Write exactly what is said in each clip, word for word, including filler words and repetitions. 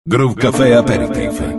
Groove Café Aperitif.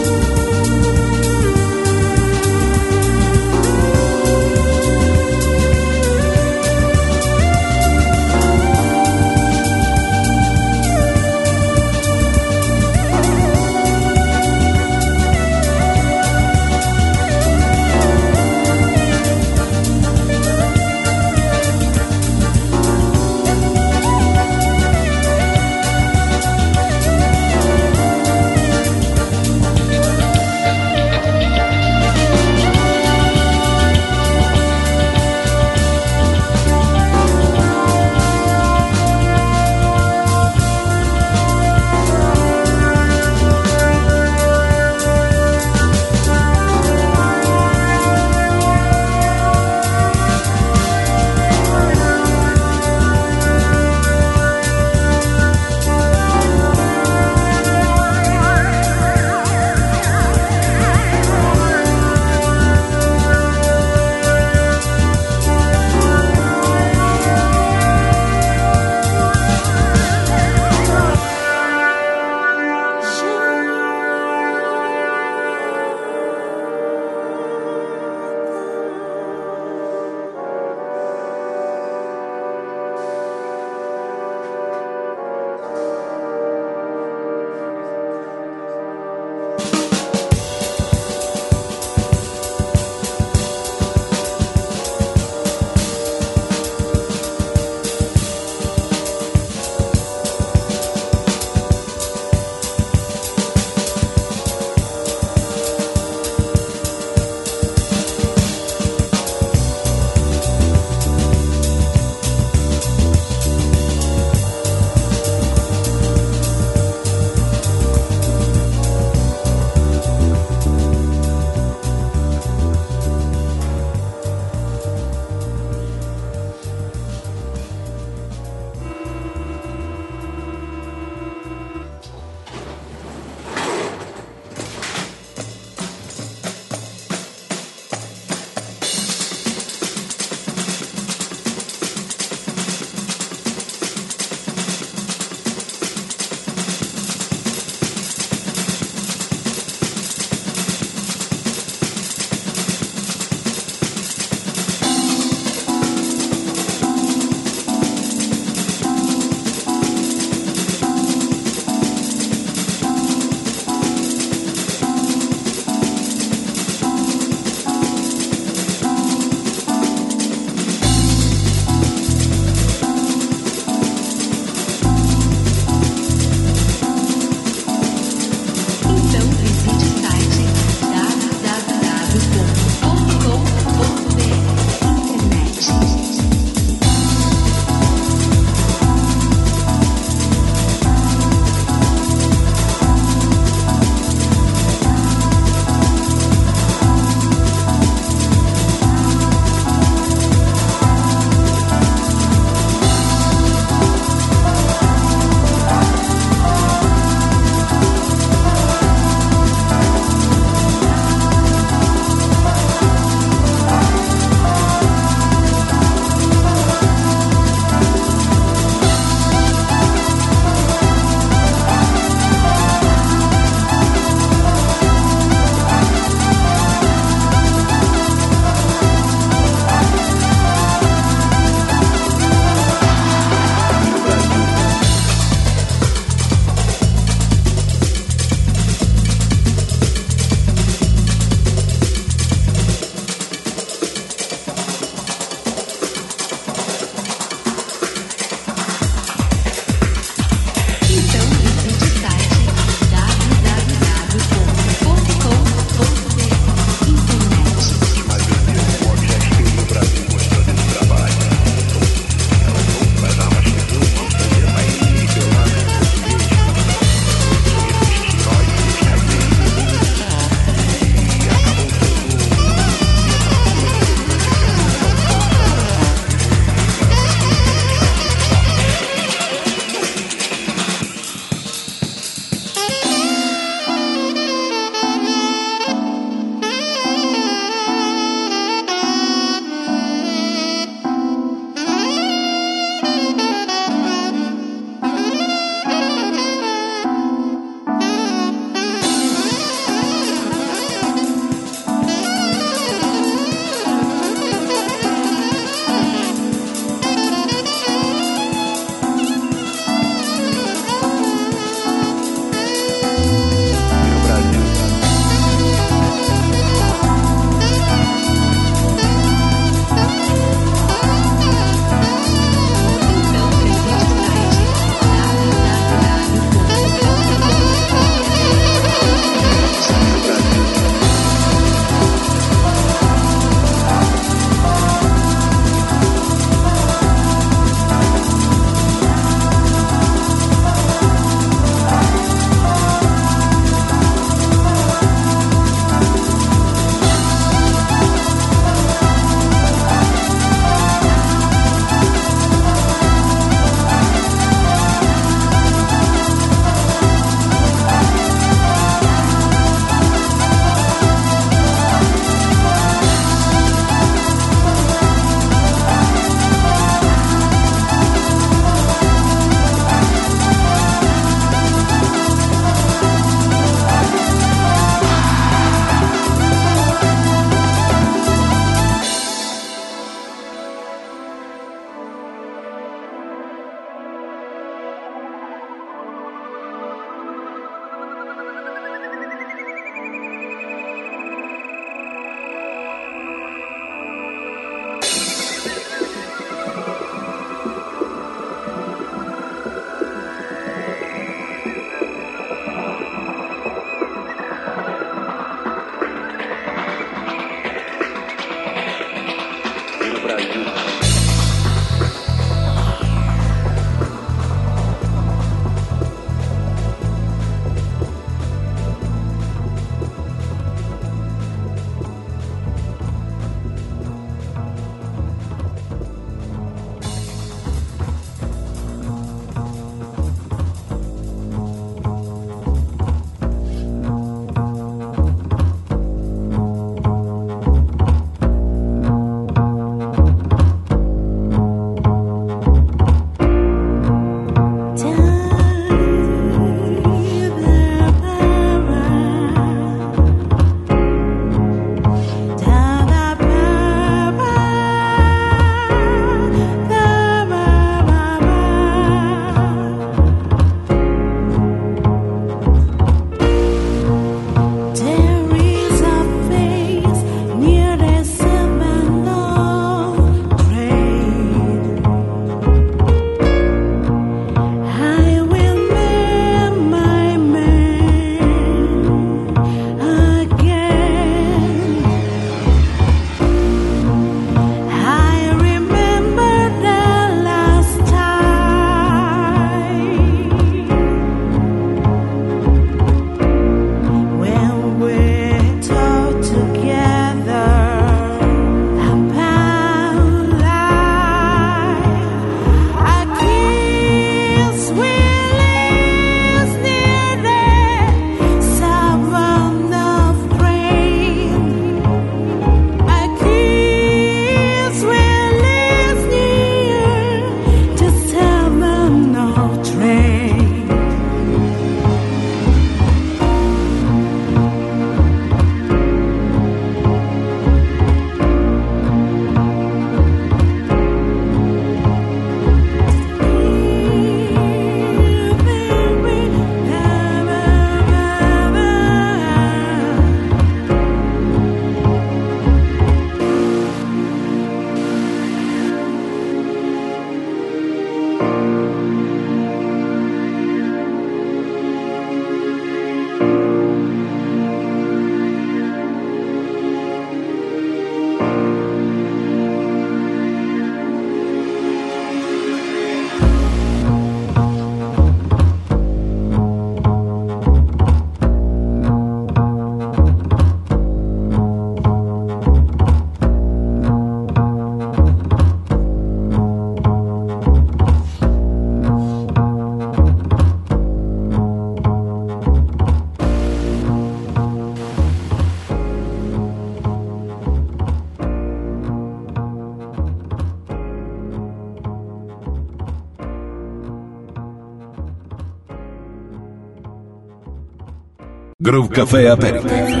Groove Café Aperitif.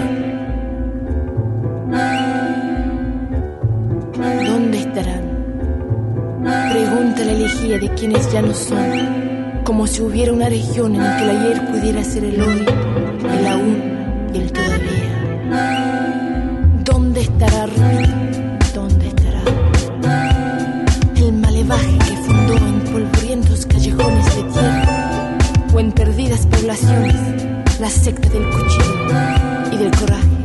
¿Dónde estarán? Pregunta la elegía de quienes ya no son, como si hubiera una región en la que el ayer pudiera ser el hoy, el aún y el todavía. ¿Dónde estará Ruido? ¿Dónde estará el malevaje que fundó en polvorientos callejones de tierra o en perdidas poblaciones la secta del cuchillo y del coraje?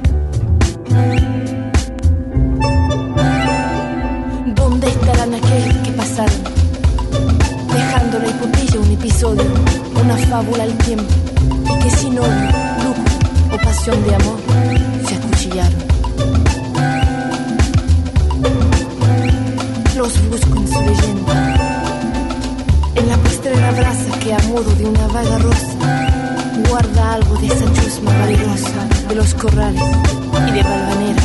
¿Dónde estarán aquellos que pasaron, dejando la epopeya un episodio, una fábula al tiempo, y que sin odio, lujo o pasión de amor se acuchillaron? Los busco en su leyenda, en la postrera brasa que a modo de una vaga rosa guarda algo de esa chusma valerosa de los corrales y de Valvanera.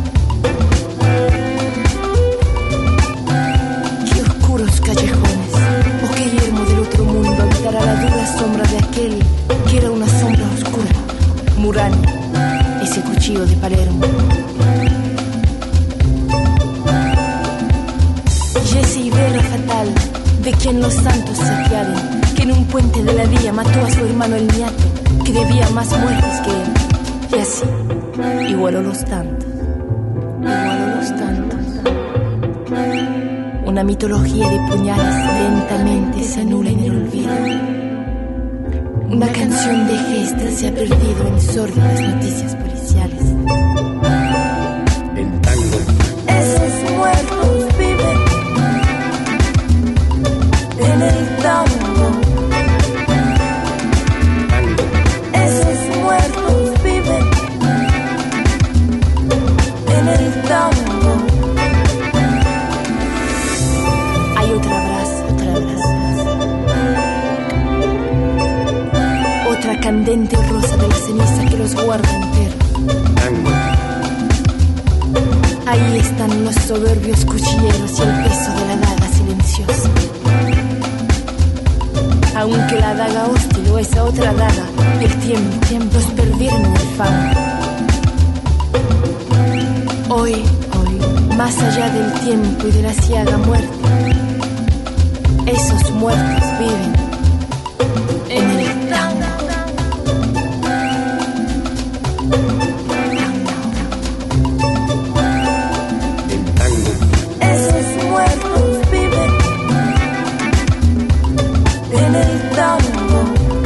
Qué oscuros callejones, o qué yermo del otro mundo habitará la dura sombra de aquel que era una sombra oscura, Murano, ese cuchillo de Palermo. Y ese Ibera fatal de quien los santos se apiaden, que en un puente de la vía mató a su hermano el niato, que debía más muertes que él, y así igualó los tantos, igualó los tantos. Una mitología de puñales lentamente se anula en el olvido. Una canción de gestas se ha perdido en sórdidas noticias policiales. El tango. Esos muertos viven en el tango. Tango. Esos muertos viven en el tango. Hay otra brasa, otra brasa, otra candente rosa de la ceniza que los guarda enteros. Tango. Ahí están los soberbios cuchilleros y el peso de la daga silenciosa. Aunque la daga hostil o esa otra daga del tiempo, tiempo los perdieron en el fango. Hoy, hoy, más allá del tiempo y de la ciaga muerte, esos muertos viven en el tango. El tango. Esos muertos viven en el tango.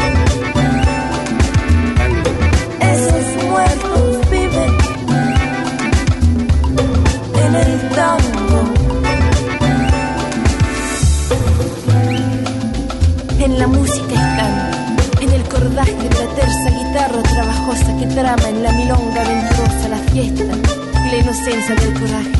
Tango. Esos muertos viven en el tango. En la música están, en el cordaje de la terza guitarra trabajosa que trama en la milonga venturosa la fiesta y la inocencia del coraje.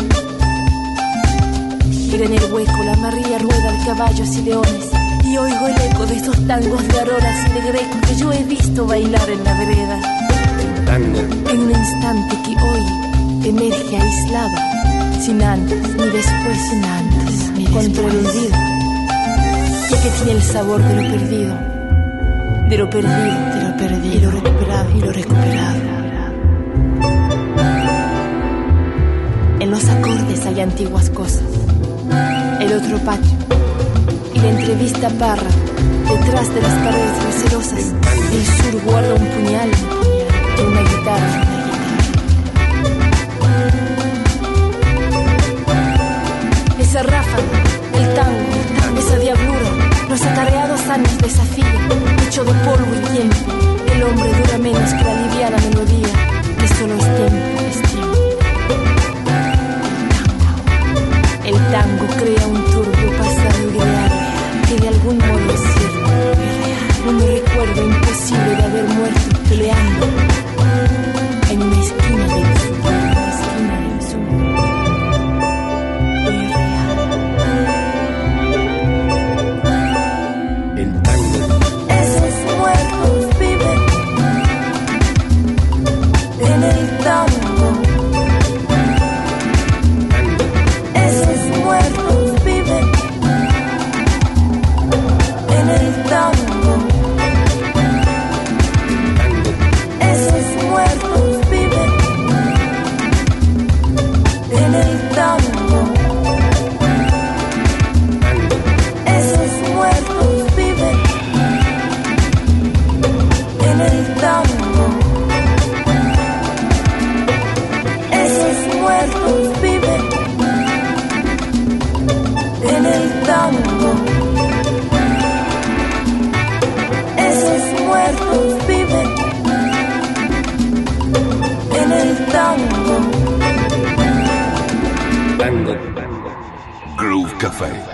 Gira en el hueco la María rueda de caballos y leones, y oigo el eco de esos tangos de aroras y de greco que yo he visto bailar en la vereda. El tango. En un instante que hoy emerge aislado, sin antes ni después, sin antes ni contra el olvido, ya que tiene el sabor de lo perdido, de lo perdido, de lo perdido, y lo recuperado, y lo recuperado. En los acordes hay antiguas cosas, el otro patio y la entrevista parra. Detrás de las paredes recelosas, el sur guarda un puñal y una guitarra. Esa ráfaga, el tango, esa diablura, los atareados años de desafío, hecho de polvo y tiempo. El hombre dura menos que la liviana melodía, que solo es tiempo, es tiempo. El tango crea un turbio pasado ideal que de algún modo es cierto, un recuerdo imposible de haber muerto peleando Café.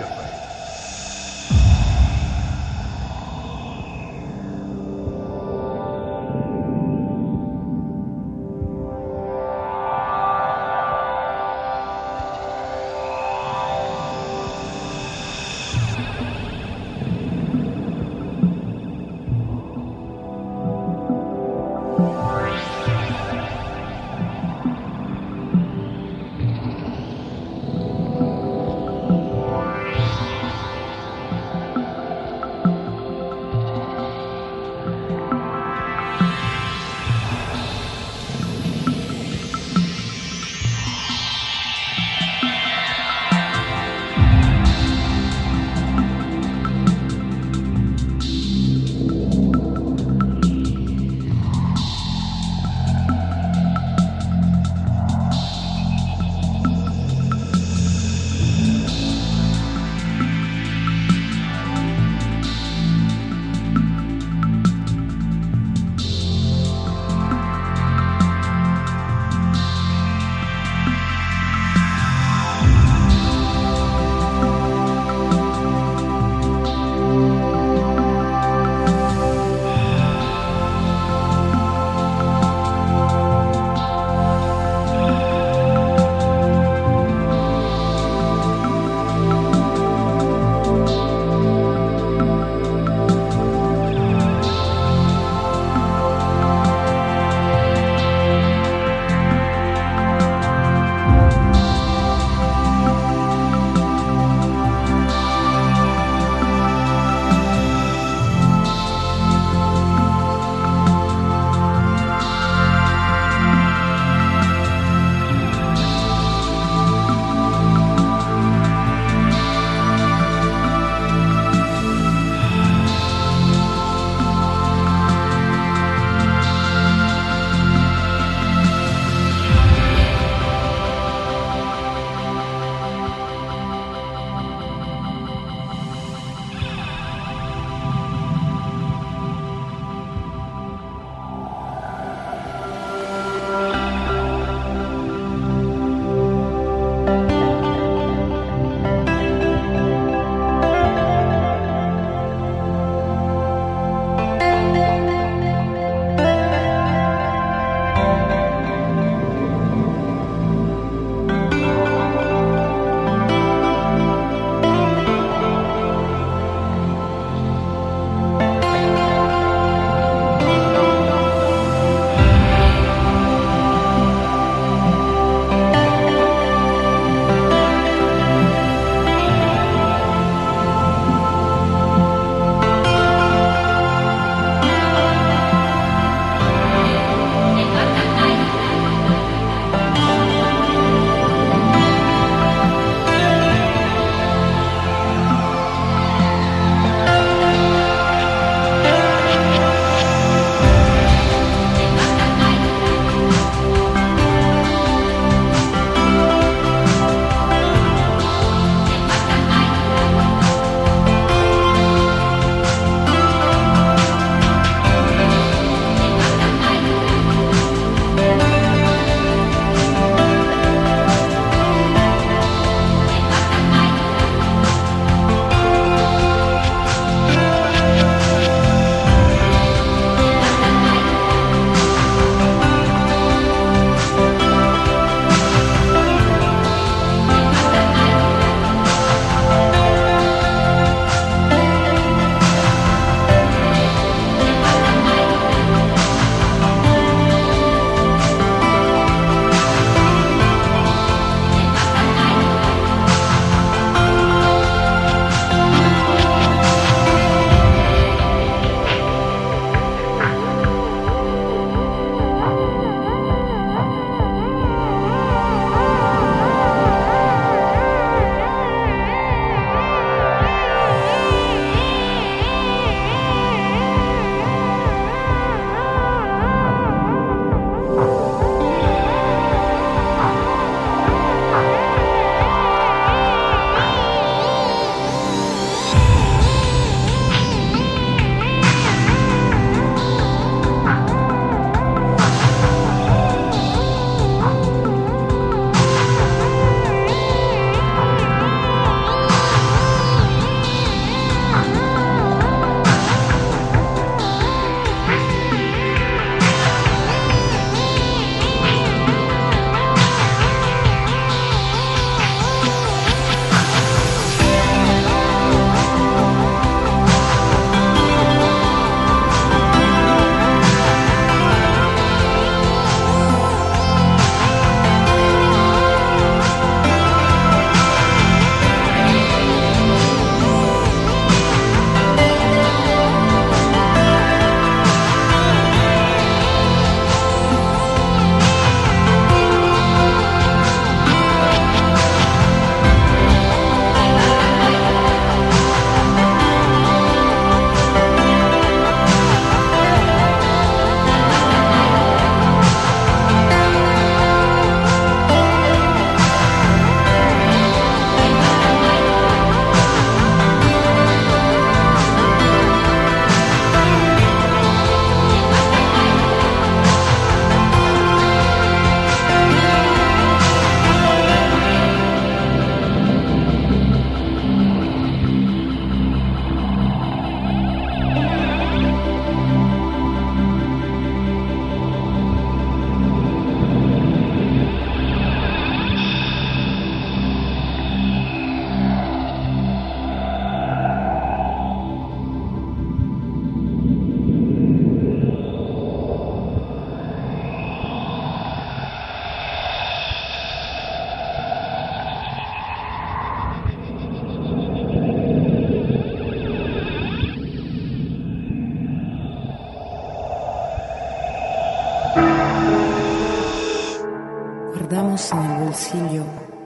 Guardamos en el bolsillo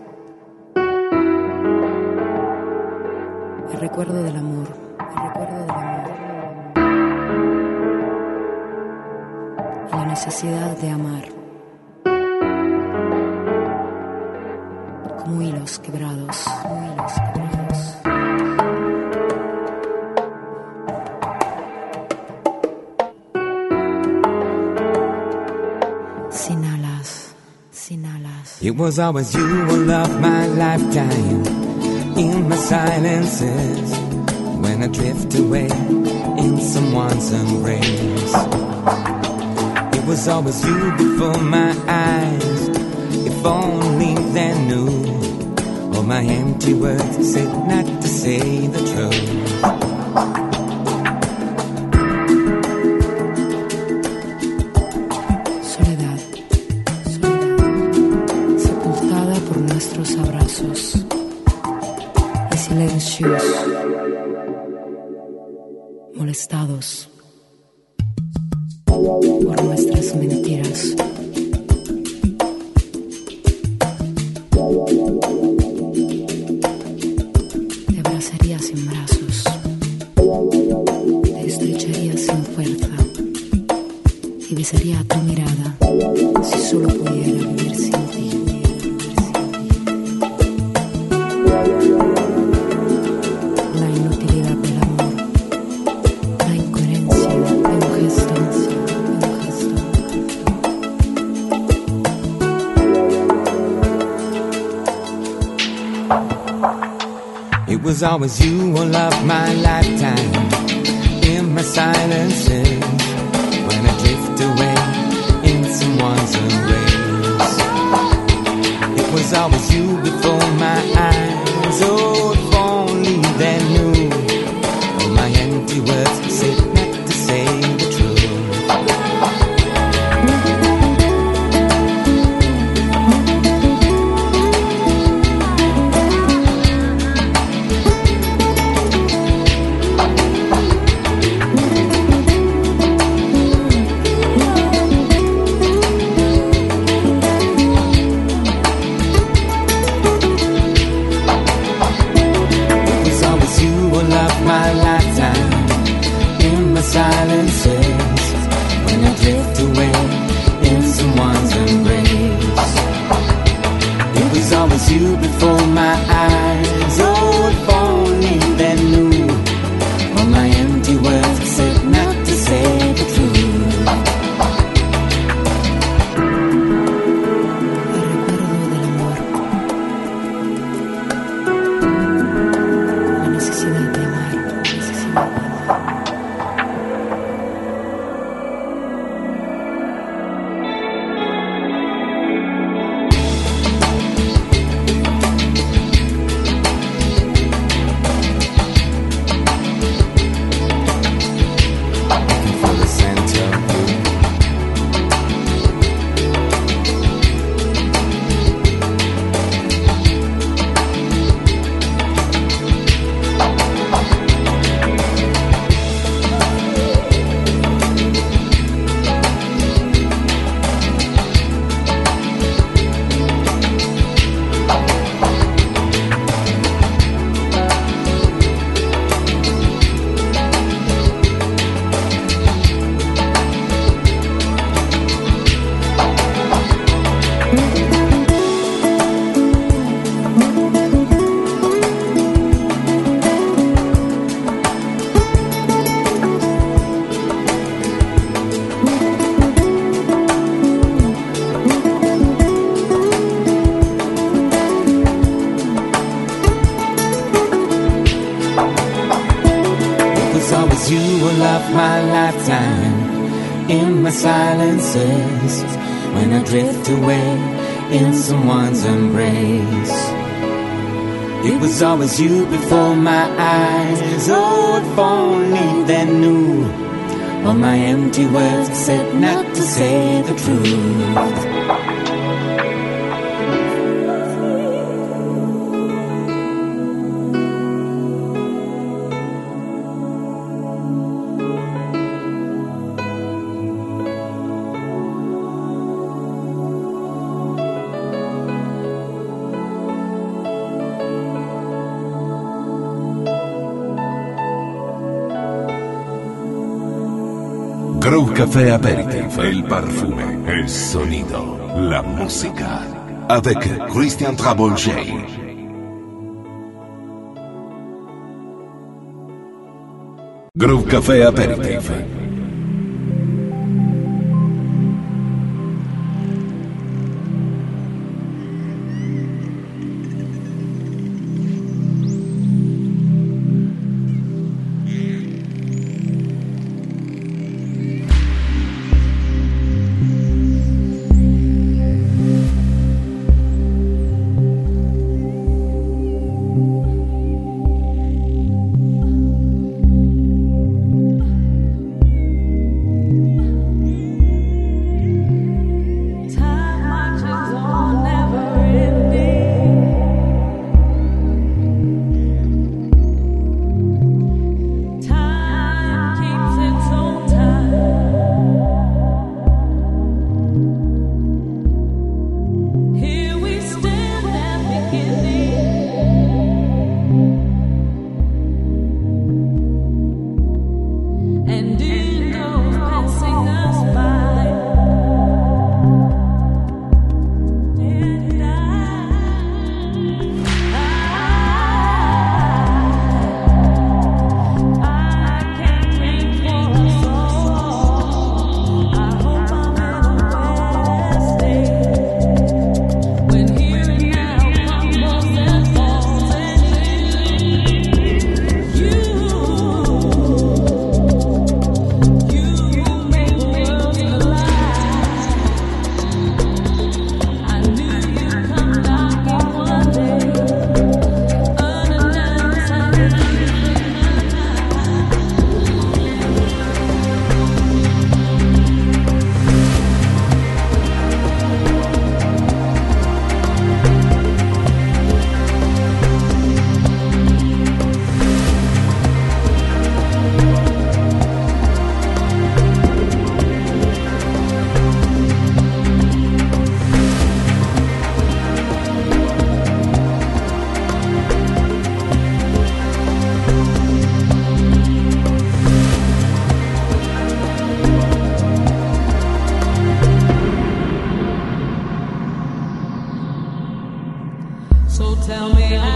el recuerdo del amor, el recuerdo del amor y la necesidad de amar, como hilos quebrados, como hilos quebrados. Sin alas, sin alas. It was always you who loved my lifetime. In my silences, when I drift away in someone's embrace. It was always you before my eyes. If only they knew all my empty words said not to say the truth. Soledad, soledad, sepultada por nuestros abrazos. Silencios, molestados por nuestras mentiras. Te abrazaría sin brazos, te estrecharía sin fuerza y besaría tu mirada si solo pudiera vivir sin ti. It was always you who loved my lifetime. In my silences, when I drift away in someone's embrace. It was always you before my eyes. Oh, if only they knew all my empty words said not to say the truth. Silences, when I drift away in someone's embrace. It was always you before my eyes. Oh, if only they knew all my empty words said not to say the truth. My lifetime in my silences, when I drift away in someone's embrace. It was always you before my eyes. Oh, if only they knew all my empty words said not to say the truth. Café Aperitif. El perfume, el sonido, la música. Avec Christian Travolgei. Groove Café Aperitif. So tell me